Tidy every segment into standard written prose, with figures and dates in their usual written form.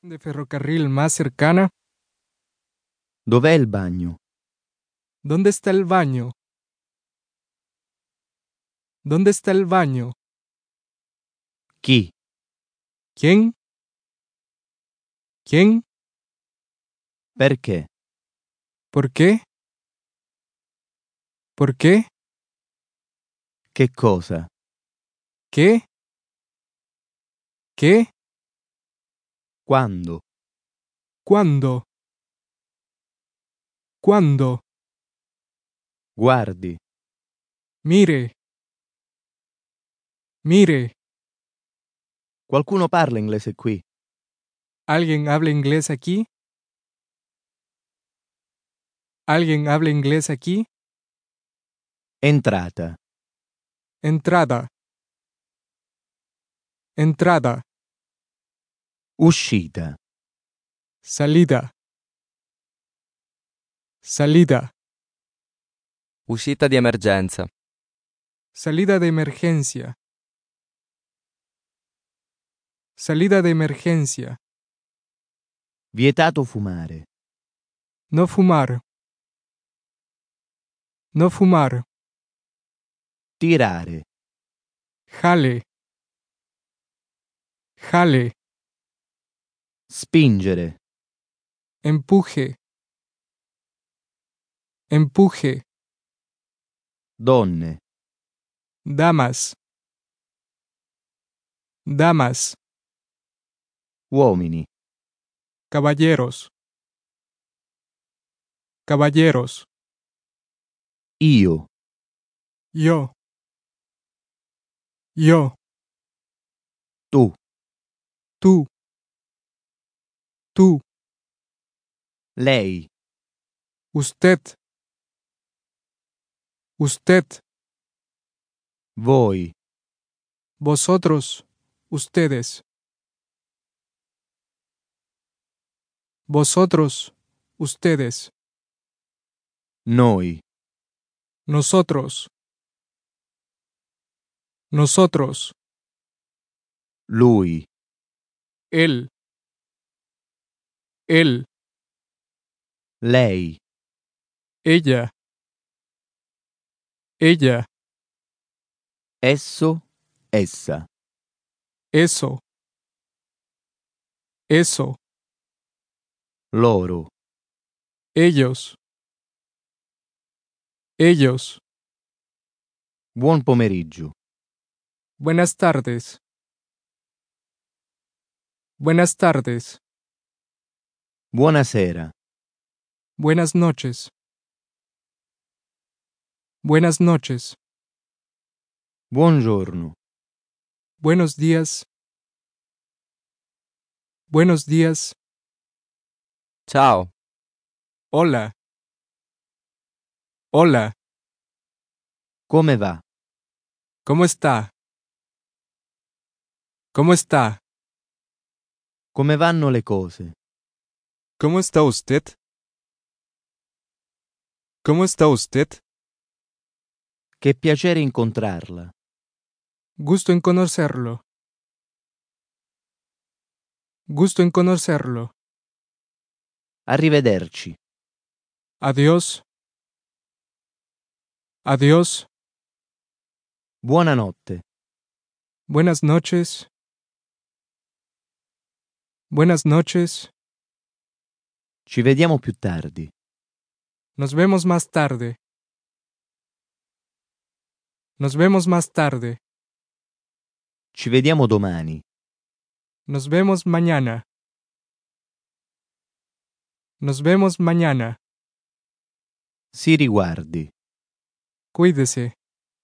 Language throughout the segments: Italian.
de ferrocarril más cercana? Dov'è il bagno? ¿Dónde está el baño? ¿Dónde está el baño? Chi? ¿Quién? ¿Quién? Perché? ¿Por qué? ¿Por qué? Che cosa? ¿Qué? ¿Qué? Quando? ¿Cuándo? ¿Cuándo? Guardi. Mire. Mire. Qualcuno parla inglese qui? ¿Alguien habla inglés aquí? ¿Alguien habla inglés aquí? Entrata. Entrada. Entrada. Uscita. Salida. Salida. Uscita di emergenza. Salida de emergencia. Salida de emergencia. Vietato fumare. No fumar. No fumar. Tirare. Jale. Jale. Spingere. Empuje. Empuje. Donne. Damas. Damas. Uomini. Caballeros. Caballeros. Io. Yo. Yo. Tu. Tú. Tú. Lei. Usted. Usted. Voi. Vosotros. Ustedes. Vosotros. Ustedes. Noi. Nosotros. Nosotros. Lui. Él. Él. Lei. Ella. Ella. Esso. Essa. Eso. Eso. Loro. Ellos. Ellos. Buon pomeriggio. Buenas tardes. Buenas tardes. Buonasera. Buenas noches. Buenas noches. Buongiorno. Buenos días. Buenos días. Ciao. Hola. Hola. Come va? ¿Cómo está? ¿Cómo está? Come vanno le cose? ¿Cómo está usted? ¿Cómo está usted? Che piacere incontrarla. Gusto en conocerlo. Gusto en conocerlo. Arrivederci. Adiós. Adiós. Buonanotte. Buenas noches. Buenas noches. Ci vediamo più tardi. Nos vemos más tarde. Nos vemos más tarde. Ci vediamo domani. Nos vemos mañana. Nos vemos mañana. Si riguardi. Cuídese.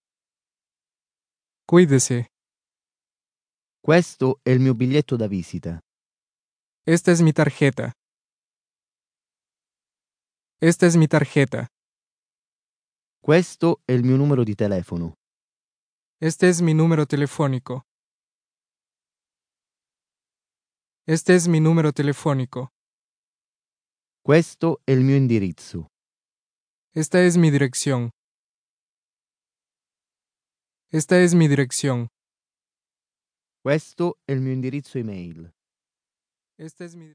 Cuídese. Questo è il mio biglietto da visita. Esta es mi tarjeta. Esta es mi tarjeta. Questo è il mio numero di telefono. Este es mi número telefónico. Este es mi número telefónico. Questo è il mio indirizzo. Esta es mi dirección. Esta es mi dirección. Questo è il mio indirizzo email. Esta es mi